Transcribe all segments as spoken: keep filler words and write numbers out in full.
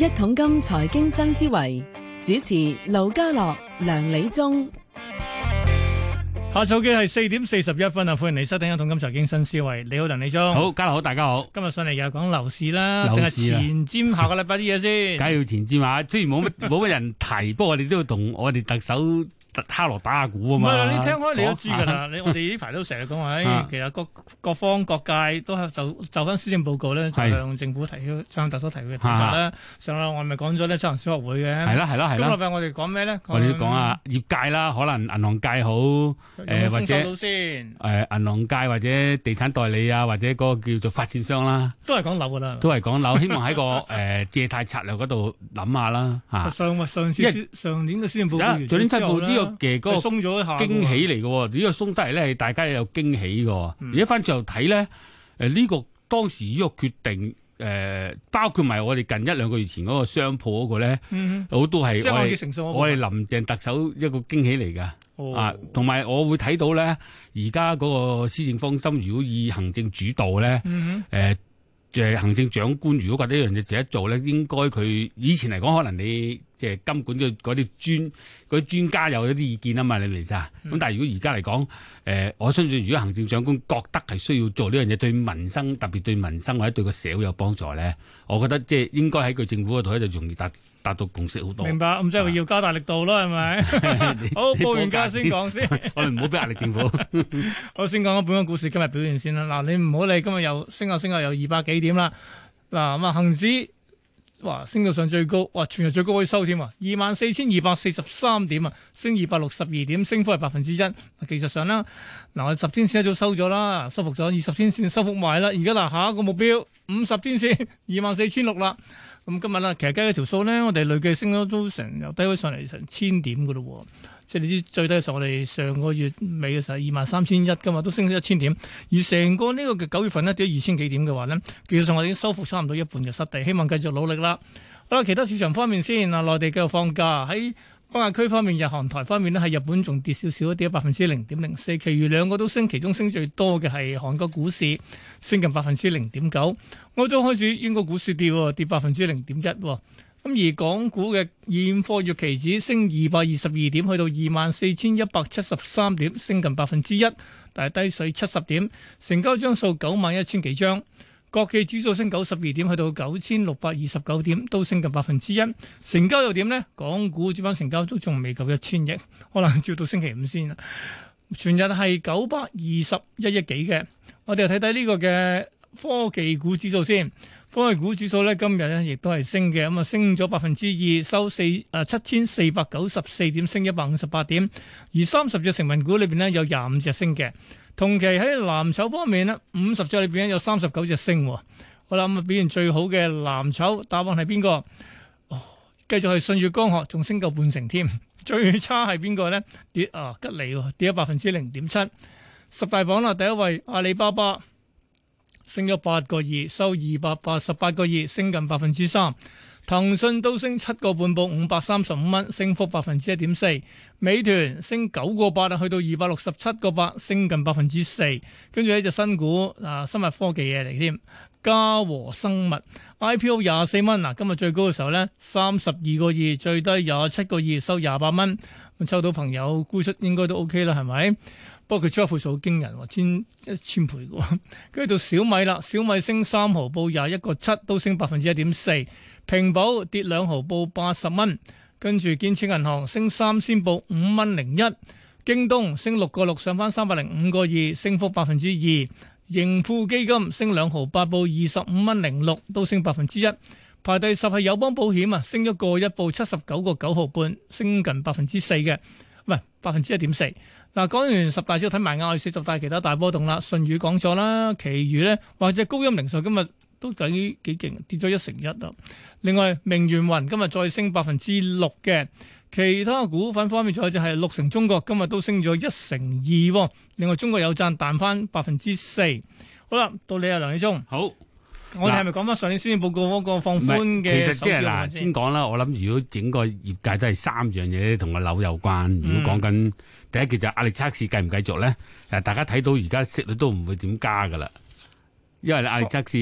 一桶金財經新思維，主持盧家樂、梁理中。 下晝嘅係四點四十一分啊！歡迎你收聽一桶金財經新思維。你好，梁理中。 好，家樂好，大家好。 今日上嚟又講樓市啦，定係前瞻下個禮拜啲嘢先？ 梗係要前瞻下，雖然冇乜冇乜人提，不過我哋都要同我哋特首敲鑼打下鼓啊嘛。 唔係啦，你聽開你都知㗎啦。你我哋呢排都成日講話，誒，其實各各方各界都係就就翻施政報告咧，就向政府提出，向特首提嘅睇法咧。上禮我咪講咗咧，執行小學會嘅。係啦，係啦，係啦。今個禮拜我哋講咩咧？ 我哋都講下業界啦，可能銀行界好。誒或者誒銀行界或者地產代理啊，或者嗰個叫做發展商啦， 都係講樓噶啦， 都係講樓。希望喺個誒借貸策略嗰度諗下啦嚇。 上上次上年嘅施政報告完咗之後咧，呢個嘅嗰個鬆咗一下驚喜嚟嘅喎，呢個鬆得嚟咧係大家有驚喜嘅。而家翻轉頭睇咧，誒呢個當時呢個決定。誒、呃，包括埋我哋近一兩個月前嗰個商鋪嗰個咧，好、嗯、都係我哋我哋林鄭特首一個驚喜嚟㗎。哦、啊，同埋我會睇到咧，而家嗰個施政方針，如果以行政主導咧，誒、嗯呃，誒行政長官如果覺得呢樣嘢值得做咧，應該佢以前嚟講，可能你即係金管嘅嗰啲專嗰啲專家有一啲意見啊嘛，你明唔明啊？咁、嗯、但係如果而家嚟講，誒、呃，我相信如果行政長官覺得係需要做呢樣嘢，對民生特別對民生或者對個社會有幫助咧，我覺得即係應該喺佢政府嗰度咧就容易達達到共識好多。 明白，咁即係要加大力度咯，係咪？好，報完價先講先。 我哋唔好俾壓力政府。 我先講下本港股市今日表現先啦。嗱，你唔好理今日又升下升下，有二百幾點啦。嗱，咁啊，恒指。哇，升到上最高，哇，全日最高可以收添啊，二萬四千二百四十三點啊，升二百六十二點，升幅係百分之一。技術上啦，嗱，我十天線一早收咗啦，收復咗二十天線收復埋啦。而家嗱，下一個目標五十天線二萬四千六啦。咁今日啦，其實計咗條數咧，我哋累計升咗都成由低位上嚟成千點噶咯。即係你知最低嘅時候，我哋上個月尾嘅時候二萬三千一噶嘛，都升咗一千點。而成個呢個嘅九月份呢，跌咗二千幾點嘅話呢，技術上我哋已經收復差唔多一半嘅失地，希望繼續努力啦。好啦，其他市場方面先啊，內地繼續放假，喺北亞區方面，日韓台方面呢，喺日本仲跌少少，跌咗百分之零點零四，其餘兩個都升，其中升最多嘅係韓國股市，升近百分之零點九。歐洲開始英國股市跌，跌百分之零點一。咁而港股嘅現貨月期指升二百二十二點，去到二萬四千一百七十三點，升近百分之一，但係低水七十點，成交張數九萬一千幾張。國企指數升九十二點，去到九千六百二十九點，都升近百分之一。成交又點呢？港股主板成交都仲未夠一千億，可能照到星期五先啦。全日係九百二十一億幾嘅。我哋又睇睇呢個嘅科技股指數先。科技股指數咧今日咧亦都係升嘅，咁啊升咗百分之二，收四誒七千四百九十四點，升一百五十八點。而三十隻成分股裏邊咧有廿五隻升嘅。同期喺藍籌方面咧，五十隻裏邊有三十九隻升。好啦，咁啊表現最好嘅藍籌答案係邊個？哦，繼續係舜宇光學，仲升夠半成添。最差係邊個咧？跌啊吉利跌咗百分之零點七。十大榜啦，第一位阿里巴巴。升咗八個二，收二百八十八個二，升近百分之三。騰訊都升七個半，報五百三十五蚊，升幅百分之一點四。美團升九個八啊，去到二百六十七個八，升近百分之四。跟住呢隻新股啊，生物科技嘢嚟添，嘉和生物 I P O 廿四蚊，嗱今日最高嘅時候咧三十二個二，最低廿七個二，收廿八蚊。咁抽到朋友沽出應該都 OK 啦，係咪？不過佢出一倍數好驚人，千一千倍嘅。跟住到小米啦，小米升三毫，報廿一個七，都升百分之一點四。平保跌兩毫，報八十蚊。跟住建設銀行升三仙，報五蚊零一。京東升六個六，上翻三百零五個二，升幅百分之二。盈富基金升兩毫八，報二十五蚊零六，都升百分之一。排第十係友邦保險啊，升咗個一，報七十九個九毫半，升近百分之四嘅，唔係百分之一點四。嗱，講完十大之後，睇埋亞四十大其他大波動啦。舜宇講咗啦，其餘咧或者高鑫零售今日都幾幾勁，跌咗一成一啊。另外明源雲今日再升百分之六嘅，其他股份方面仲有就係綠城中國今日都升咗一成二。另外中國有贊彈翻百分之四。好啦，到你啊，梁理中。 好， 我哋係咪講翻上年施政報告嗰個放寬嘅？ 其實即係嗱，先講啦。我諗如果整個業界都係三樣嘢同個樓有關。如果講緊、嗯、第一件就壓力測試繼唔繼續咧？誒，大家睇到而家息率都唔會點加噶啦，因為壓力測試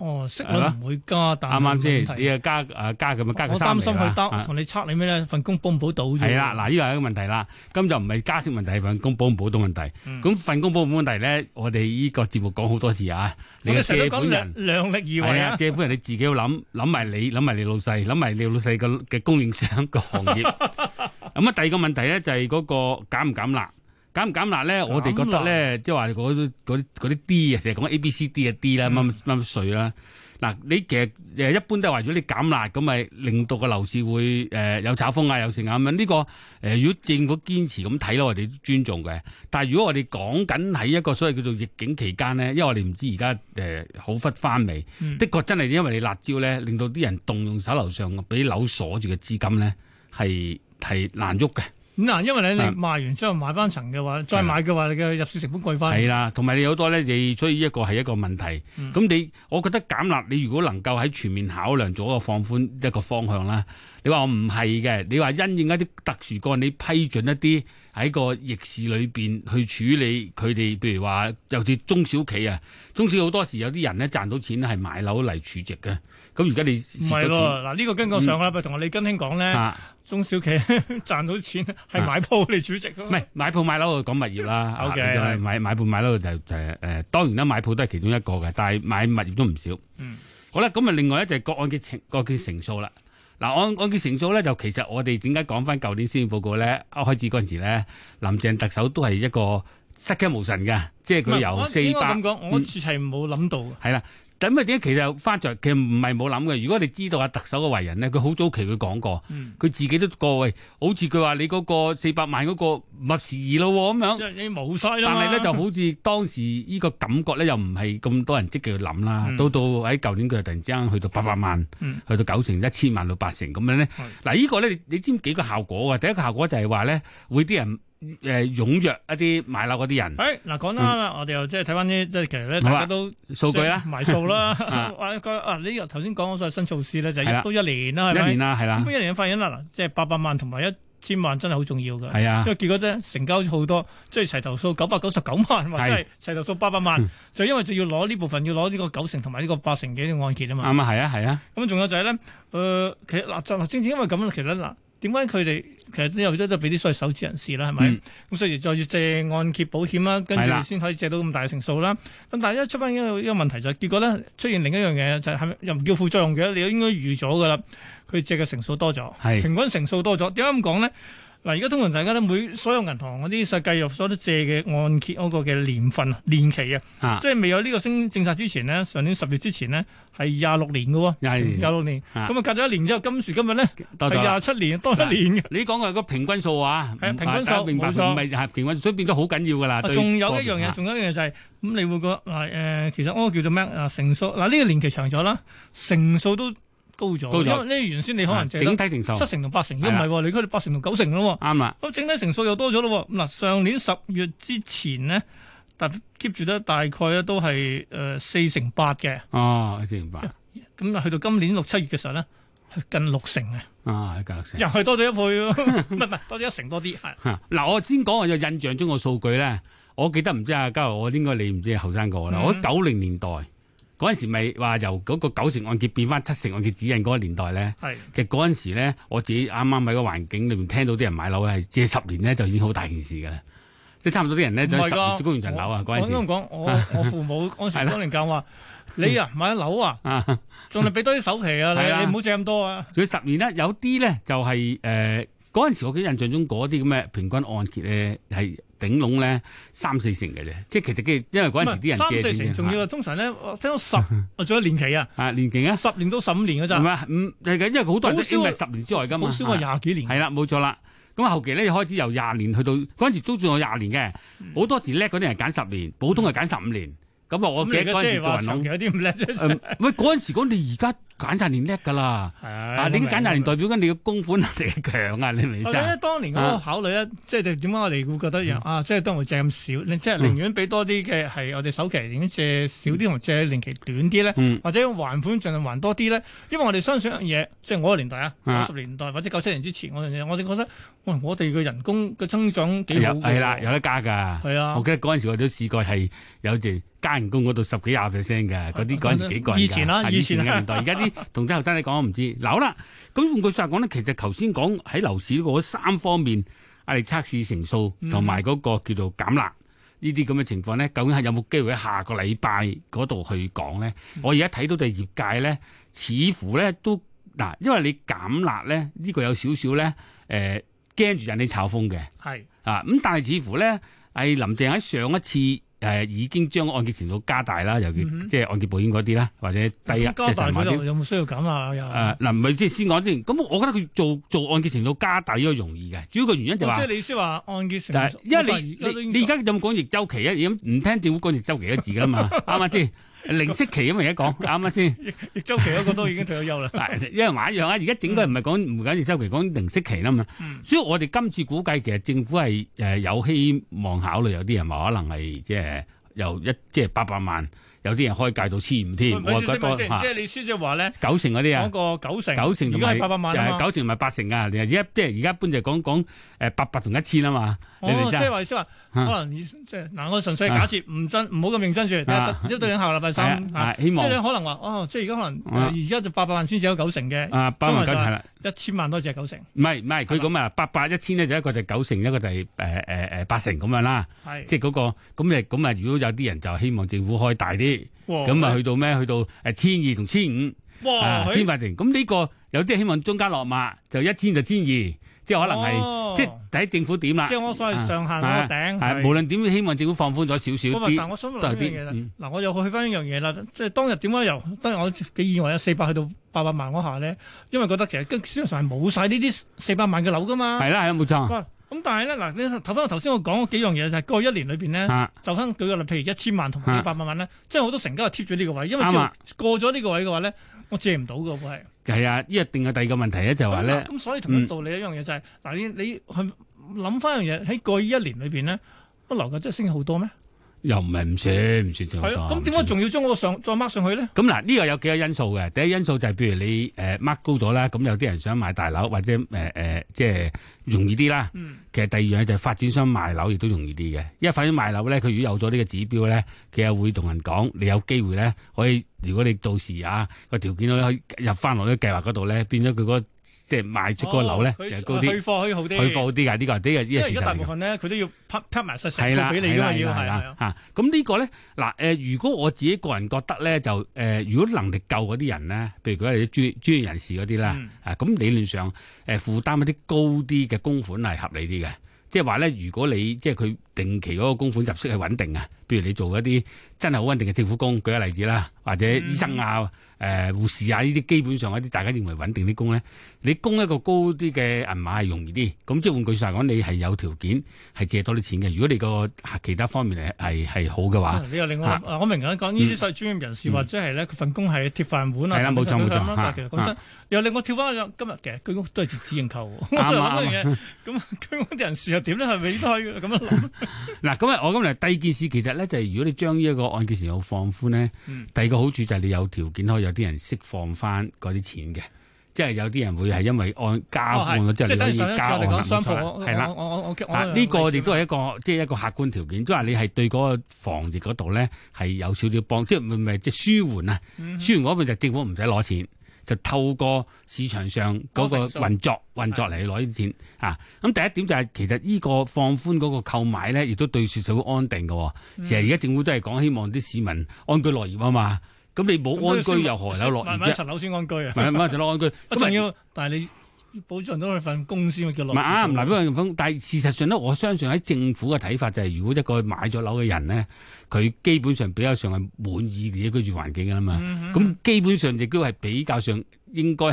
哦，息率唔會加，但啱啱先？ 問題你又加啊加咁啊加個我三厘擔心佢啦。 得同你測你咩咧？份工保唔保到啫？ 係啦，嗱，呢個係一個問題啦。咁就唔係加息問題，係份工保唔保到問題。咁、嗯、份工保唔保問題咧，我哋呢個節目講好多次啊。你嘅借本人量力而為啊！ 借本人你自己要諗諗埋你，諗埋你老細，諗埋你老細嘅嘅供應商個行業。咁啊，第二個問題咧就係嗰個減唔減辣？減唔減辣咧？我哋覺得咧，即係話嗰啲嗰啲嗰啲 D 啊，成日講 A、B、C、D 嘅 D 啦，乜乜乜稅啦。嗱，你其實誒一般都係話，如果你減辣咁，咪令到個樓市會誒有炒風啊，有成啊咁樣。呢、這個誒、呃，如果政府堅持咁睇咧，我哋都尊重嘅。但係如果我哋講緊喺一個所謂叫做逆境期間咧，因為我哋唔知而家誒好忽翻未，嗯、的確真係因為你辣椒咧，令到啲人動用手頭上俾樓鎖住嘅資金咧，係係難喐嘅。 咁嗱，因為咧你賣完之後買翻層嘅話，再買嘅話，你嘅入市成本貴翻。係啦，同埋你有好多咧，你所以一個係一個問題。咁、嗯、你，我覺得減辣，你如果能夠喺全面考量咗個放寬一個方向啦，你話我唔係嘅，你話因應一啲特殊個案，你批准一啲喺個逆市裏邊去處理佢哋，譬如話尤其中小企啊，中小好多時有啲人咧賺到錢係買樓嚟儲值嘅。咁而家你唔係咯？嗱，呢個跟我上個禮拜同我李根興講咧。啊中小企賺到錢係買鋪嚟儲值咯，唔係買鋪買樓講物業啦。O K， 買買鋪買樓就誒誒、呃，當然啦，買鋪都係其中一個嘅，但係買物業都唔少。嗯，好啦，咁啊，另外咧就係個按揭成個按揭成數啦。嗱，按按揭成數咧，就其實我哋點解講翻舊年施政報告咧？一開始嗰陣時咧，林鄭特首都係一個失驚無神嘅，即係佢由四百， 咁講，我似係冇諗到。係啦。 咁啊點解其實翻在其實唔係冇諗嘅？如果你知道阿特首嘅為人咧，佢好早期佢講過，佢、嗯、自己都過喂，好似佢話你嗰個四百萬嗰個唔合時宜咯咁樣，即係你冇晒啦。但係咧就好似當時呢個感覺咧，又唔係咁多人積極去諗啦。到、嗯、到喺舊年佢突然之間去到八百萬，嗯、去到九成、一千萬到八成咁樣咧。嗱、嗯、呢個咧你你知唔知幾個效果嘅？第一個效果就係話咧，會啲人。誒、呃，踴躍一啲買樓嗰啲人。誒、哎，嗱，講得啱啦，我哋又即係睇翻啲，即係其實咧，大家都數據啦，埋數啦。話個啊，你頭先講嗰所謂新措施咧，就係、都一年啦，係咪？一年啦，係啦。咁一年發現啦，嗱，即係八百萬同埋一千萬真係好重要㗎。係啊，因為結果咧成交好多，即係齊頭數九百九十九萬，或者係齊頭數八百萬，嗯、就因為就要攞呢部分，要攞呢個九成同埋呢個八成嘅呢個按揭啊嘛。啱啊，係啊，係啊。咁仲有就係、是、咧，誒、呃，其實嗱，就正正因為咁其實嗱。點解佢哋其實都有都都俾啲所謂首置人士啦，係咪？咁、嗯、所以再要借按揭保險啦，跟住先可以借到咁大嘅成數啦。咁但係一出翻一個一個問題就係、是，結果咧出現另一樣嘢就係、是，係咪又唔叫副作用嘅？你應該預咗噶啦，佢借嘅成數多咗，平均成數多咗。點解咁講咧？嗱，而家通常大家都每所有銀行嗰啲實計入所都借嘅按揭嗰個嘅年份啊、年期啊，即係未有呢個新政策之前呢，上年十月之前呢，係廿六年嘅喎，廿六年，咁啊隔咗一年之後，今時今日咧係廿七年，多一年嘅。你講嘅係個平均數啊，係平均數，冇錯，唔係係平均，所以變咗好緊要㗎啦。仲有一樣嘢，仲有一樣嘢就係、是、咁，你會覺得嗱誒，其實嗰個叫做咩啊？成數嗱呢、這個年期長咗啦，成數都高咗，因為呢原先你可能借整體成數七成同八成，如果唔係，你嗰度八成同九成咯。啱啦，咁整體成數又多咗咯。嗱，上年十月之前呢，但 keep 住得大概咧都係誒四成八嘅。哦，四成八。咁啊，去到今年六七月嘅時候咧，係近六成嘅。啊，近六成，又係多咗一倍咯。唔係唔係，多咗一成多啲。係。嗱，我先講我有印象中個數據咧，我記得唔知啊，嘉豪，我應該你唔知後生過啦。我九零年代。嗰陣時咪話由嗰個九成按揭變翻七成按揭指引嗰個年代咧，其實嗰陣時咧，我自己啱啱喺個環境裏面聽到啲人買樓係借十年咧就已經好大件事㗎啦，即係差唔多啲人咧就十年供完層樓啊嗰陣時。我咁講，我我父母嗰陣時當年教話，你啊買樓啊，仲係俾多啲首期啊，你你唔好借咁多啊。仲要十年咧，有啲咧就係誒嗰陣時我記得印象中嗰啲咁嘅平均按揭咧係。頂籠咧三四成嘅啫，即係其實因為嗰陣時啲人借三四成，仲要通常咧，我聽到十，我仲有年期啊，啊年期啊，十年到十五年嘅咋，唔係唔係嘅，因為好多人都因為十年之外噶嘛，好少話廿幾年，係啦，冇錯啦。咁後期咧開始由廿年去到嗰陣時租住我廿年嘅，好、嗯、多時叻嗰啲人揀十年，普通係揀十五年。咁、嗯、啊，我記得嗰陣時做人行有啲唔叻啫。喂，嗰陣時講你而家揀債年叻㗎啦。啊，你啲揀債年代表緊你嘅供款能力強啊，你明唔明先？ 我當年嗰個考慮咧，即係點解我哋會覺得樣啊？即係當會借咁少，即係寧願俾多啲嘅係我哋首期，寧願借少啲同借年期短啲咧， 嗯、 或者還款盡量還多啲咧。因為我哋相信一樣嘢，即係我個年代啊，九十年代或者九七年之前嗰樣嘢，我哋覺得，喂，我哋嘅人工嘅增長幾好嘅， 係啦，有得加㗎。係啊，我記得嗰陣時我都試過係有隻。加人工嗰度十幾廿 percent 嘅，嗰啲嗰陣時幾個人㗎。 以前啦， 以前嘅年代，而家啲同啲後生你講我唔知。嗱好啦，咁換句説話講咧，其實頭先講喺樓市嗰三方面，壓力測試成數同埋嗰個叫做減辣呢啲咁嘅情況咧，究竟係有冇機會喺下個禮拜嗰度去講咧？嗯、我而家睇到就係業界咧，似乎咧都嗱，因為你減辣咧，呢、呢個有少少咧誒驚住引你炒風嘅。係是啊，咁但係似乎咧係林鄭喺上一次。誒、呃、已經將按揭程度加大啦，尤其、嗯、哼即係按揭保險嗰啲啦，或者低啊，即係成萬啲。 有冇需要減啊？ 誒嗱，唔係即係先講先。咁我覺得佢做做按揭程度加大呢個容易嘅，主要個原因就話、是哦，即係你先話按揭程度。因為你你你而家有冇講逆周期啊？而家唔聽政府講逆周期嘅字㗎嘛，啱唔啱先？零息期咁而家講啱唔啱先？ 逆周期嗰個都已經退咗休啦。 一樣話一樣啊！而家整個唔係講唔講逆周期，講零息期啦嘛。嗯、所以我哋今次估計其實政府係誒有希望考慮，有啲人話可能係即係。由一即係八百萬，有啲人開價到千五添，我覺得多嚇。即係你先即係話咧，九成嗰啲啊， 講個九成， 九成同埋八百萬啊嘛， 九成同埋八成啊！而家即係而家一般就講講誒八百同一千啊嘛。 哦，即係話意思話，可能即係嗱，我純粹假設唔真，唔好咁認真住，一對應下禮拜三，希望即係可能話，哦，即係而家可能而家就八百萬先至有九成嘅， 啊，八萬九係啦， 一千萬多隻九成。 唔係唔係，佢咁啊，八百一千咧就一個就九成，一個就係誒誒誒八成咁樣啦。係，即係嗰個咁誒咁啊！如果有啲人就希望政府開大啲，咁啊去到咩？去到誒千二同千五，哇，千八成。咁呢個有啲希望中間落馬，就一千就千二。即係可能係，哦、即係睇政府點啦。即係我所謂上限嗰個頂。係、啊、無論點，希望政府放寬咗少少啲。但係我想問一樣嘢啦。嗱、嗯，我又去翻一樣嘢啦。即係當日點解由當日我幾意外有四百去到八百萬嗰下咧？因為覺得其實跟市場上係冇晒呢啲四百萬嘅樓噶嘛。係啦，係啦，冇錯。咁但係咧嗱，你睇翻頭先我講嗰幾樣嘢就係過去一年裏邊咧，啊、就翻舉個例，譬如一千萬同埋八百萬咧，即係好多成交係貼咗呢個位，因為只要過咗呢個位嘅話咧，我借唔到㗎喎係。係啊，呢一定係第二個問題咧，就話咧。咁所以同一道理一樣嘢就係、是、嗱、嗯，你你去諗翻一樣嘢喺過去一年裏邊咧，個樓價真係升好多咩？又唔係唔算唔算咁多。咁點解仲要將嗰個上再 mark 上去咧？咁嗱，呢個有幾個因素嘅。第一因素就係譬如你誒 mark 高咗啦，咁有啲人想買大樓或者誒誒、呃呃、即係容易啲啦。嗯、其實第二樣就係發展商賣樓亦都容易啲嘅，因為發展賣樓咧，佢如果有咗呢個指標咧，佢又會同人講，你有機會咧可以。如果你到時啊個條件可以入翻落啲計劃嗰度咧，變咗佢嗰個即係賣出嗰個樓咧就高啲，去貨可以好啲，去貨好啲㗎。呢個呢個呢個事實嚟嘅。因為而家大部分咧，佢都要拍拍埋實實報俾你㗎嘛，要係啊嚇。咁呢個咧嗱誒，如果我自己個人覺得咧，就誒，如果能力夠嗰啲人咧，譬如佢係啲專專業人士嗰啲啦，啊咁理論上誒負擔一啲高啲嘅供款係合理啲嘅。即係話咧，如果你即係佢定期嗰個供款入息係穩定啊，譬如你做一啲真係好穩定嘅政府工，舉個例子啦，或者醫生啊、誒、呃、護士啊呢啲基本上一啲大家認為穩定啲工咧，你供一個高啲嘅銀碼係容易啲。咁即係換句話講，你係有條件係借多啲錢嘅。如果你個其他方面係係好嘅話，你又另外、啊、我明啦，講呢啲所謂專業人士、嗯、或者係咧佢份工係鐵飯碗啊，係啦冇錯冇錯。但係其實講真，又令我跳翻今日其實居屋都係截止認購喎。啱啱嘅咁居屋啲人士又點咧？係咪都可以咁樣諗？嗱咁啊，我咁嚟第二件事其實咧就係、是、如果你將呢一個按揭成數放寬咧，嗯、第二個好處就係你有條件可以有啲人釋放翻嗰啲錢嘅，即係有啲人會係因為按加放咗之後你可以加按冇錯，係啦。啊呢個亦都係一個即係一個客觀條件，即係話你係對嗰個防疫嗰度咧係有少少幫，即係唔係即係舒緩啊？嗯、舒緩嗰邊就政府唔使攞錢。就透過市場上嗰個運作運作嚟攞啲錢啊！咁第一點就係其實呢個放寬嗰個購買咧，亦都對社會安定嘅。其實而家政府都係講希望啲市民安居樂業啊嘛。咁你冇安居又何有樂業啫？買一層樓先安居啊！買買一層樓安居，咁仲要，但係你保障到佢份工先叫樂業。唔係啊，唔係俾人封。但係事實上咧，我相信喺政府嘅睇法就係，如果一個買咗樓嘅人咧，佢基本上比較上係滿意自己居住環境㗎啦嘛。咁、嗯、哼基本上亦都係比較上應該係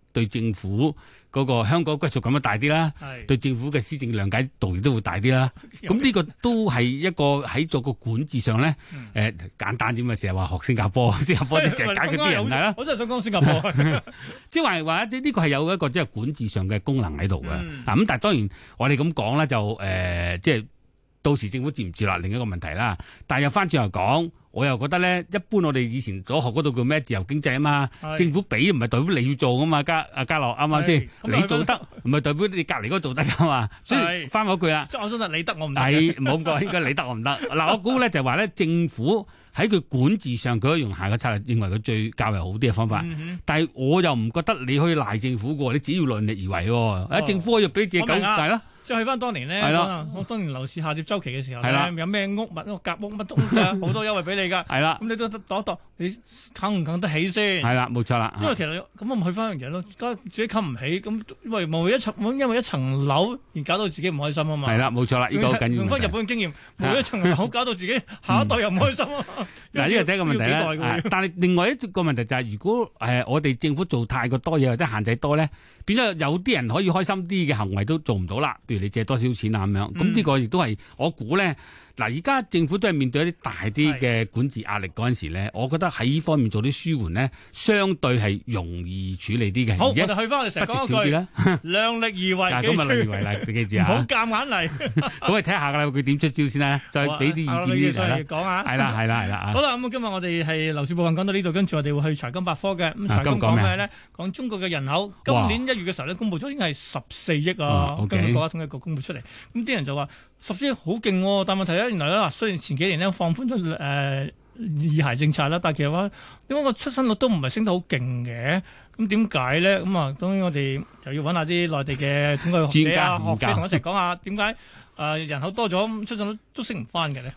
對政府嗰個香港歸屬感都大啲啦，對政府嘅施政諒解度亦都會大啲啦。咁呢個都係一個喺做個管治上咧，誒、嗯呃、簡單啲咪成日話學新加坡，新加坡啲成日解決啲人係啦。 我真係想講新加坡， 即係話話呢個係有一個即係管治上嘅功能喺度嘅。啊、嗯，咁但係當然我哋咁講咧就誒、呃，即係到時政府接唔接納另一個問題啦。但係又翻轉頭講。我又覺得咧，一般我哋以前所學嗰度叫咩自由經濟啊嘛，政府俾唔係代表你要做噶嘛，家阿家樂啱啱先？你做得唔係代表你隔離嗰個做得噶嘛，所以翻嗰句啦。 即係我想得你得我唔得。 係唔好咁講，應該你得我唔得。嗱，我估咧就係話咧，政府喺佢管治上，佢可以用下個策略，認為佢最較為好啲嘅方法。嗯、但係我又唔覺得你可以賴政府嘅，你只要量力而為喎。啊、哦，政府可以俾自己搞大啦。 即係去翻當年咧，我當年樓市下跌週期嘅時候咧，有咩屋物、夾屋乜東西啊，好多優惠俾你㗎。係啦，咁你都度一度，你啃唔啃得起先？係啦，冇錯啦。因為其實咁我咪去翻樣嘢咯，自己啃唔起，咁因為冇一層，因為一層樓而搞到自己唔開心啊嘛。係啦，冇錯啦，呢個好緊要。用翻日本嘅經驗，冇一層樓搞到自己下一代又唔開心啊。嗱，呢個第一個問題啦。但係另外一個問題就係，如果誒我哋政府做太過多嘢或者限制多咧，變咗有啲人可以開心啲嘅行為都做唔到啦。譬如你借多少錢啊咁樣，咁呢個亦都係我估咧。嗱，而家政府都係面對一啲大啲嘅管治壓力嗰陣時咧，我覺得喺呢方面做啲舒緩咧，相對係容易處理啲嘅。好，我哋去翻我哋成日講一句，量力而為，記住。咁啊，量力而為啦，記住啊。唔好夾硬嚟。咁我睇下㗎啦，佢點出招先啦，再俾啲意見先啦。講下。係啦，係啦，係啦。好啦，咁今日我哋係樓市部分講到呢度，跟住我哋會去財金百科嘅。咁財金講咩咧？講中國嘅人口，今年一月嘅時候咧，公佈咗已經係十四億啊，根據國家統計局公佈出嚟。咁啲人就話十四億好勁喎，但問題咧，原來咧嗱，雖然前幾年咧放寬咗誒二孩政策啦，但係其實話點解個出生率都唔係升得好勁嘅？咁點解咧？咁啊，當然我哋又要揾下啲內地嘅統計學者啊、學者同我一齊講下點解誒人口多咗，出生率都升唔翻嘅咧？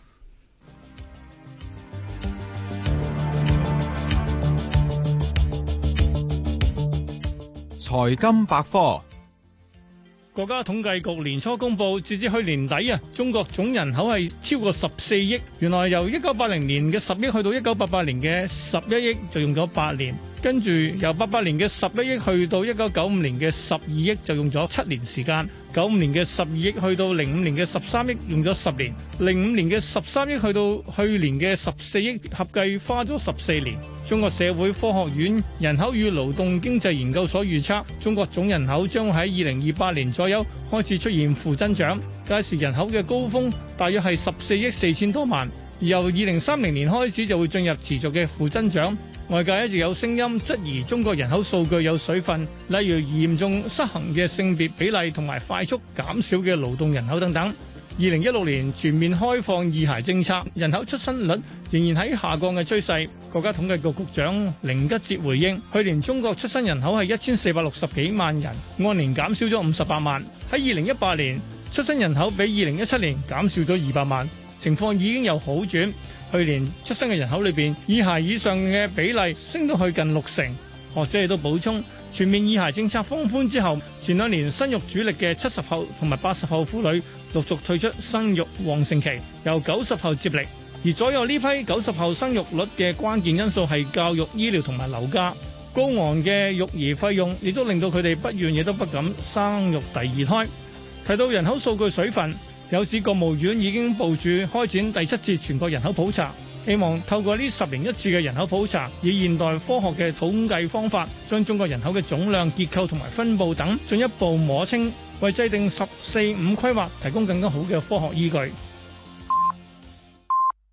財金百科。 國家統計局年初公佈，截至去年底啊，中國總人口係超過十四億。原來由一九八零年嘅十億去到一九八八年嘅十一億，就用咗八年。跟住由八八年嘅十一億去到一九九五年嘅十二億，就用咗七年時間。九五年嘅十二億去到零五年嘅十三億，用咗十年。零五年嘅十三億去到去年嘅十四億，合計花咗十四年。中國社會科學院人口與勞動經濟研究所預測，中國總人口將喺二零二八年左右開始出現負增長，屆時人口嘅高峰大約係十四億四千多萬，而由二零三零年開始就會進入持續嘅負增長。外界一直有聲音質疑中國人口數據有水分，例如嚴重失衡嘅性別比例同埋快速減少嘅勞動人口等等。二零一六年全面開放二孩政策，人口出生率仍然喺下降嘅趨勢。國家統計局局長寧吉喆回應，去年中國出生人口係一千四百六十幾萬人，按年減少咗五十八萬。喺二零一八年，出生人口比二零一七年減少咗二百萬，情況已經有好轉。去年出生嘅人口裏邊，二孩以上嘅比例升到去近六成。學者亦都補充，全面二孩政策放寬之後，前兩年生育主力嘅七十後同埋八十後婦女陸續退出生育旺盛期，由九十後接力。而左右呢批九十後生育率嘅關鍵因素係教育、醫療同埋樓價。高昂嘅育兒費用亦都令到佢哋不願亦都不敢生育第二胎。提到人口數據水分，有指國務院已經部署開展第七次全國人口普查，希望透過呢十年一次嘅人口普查，以現代科學嘅統計方法，將中國人口嘅總量、結構同埋分佈等進一步摸清，為制定十四五規劃提供更加好嘅科學依據。